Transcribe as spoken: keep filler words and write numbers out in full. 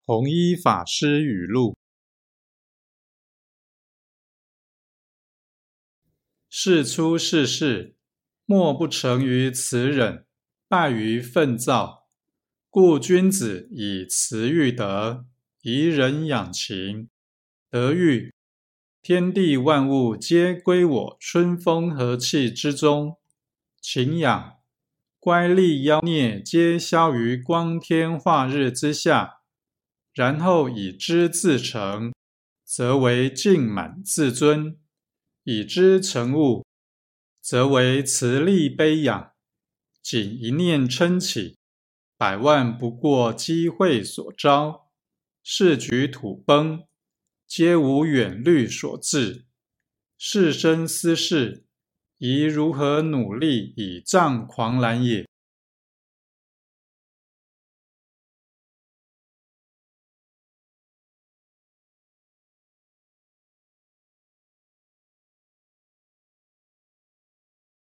弘一法师语录。世出世事，莫不成于慈忍，败于愤躁。故君子以慈育德，以忍养情。德育，天地万物皆归我春风和气之中；情养，乖戾妖孽皆消于光天化日之下。然后以之自成，则为尽满自尊；以之成物，则为慈力悲养。仅一念嗔起，百万不过机会所招，世局土崩，皆无远虑所致。是生斯事，宜如何努力以障狂澜也。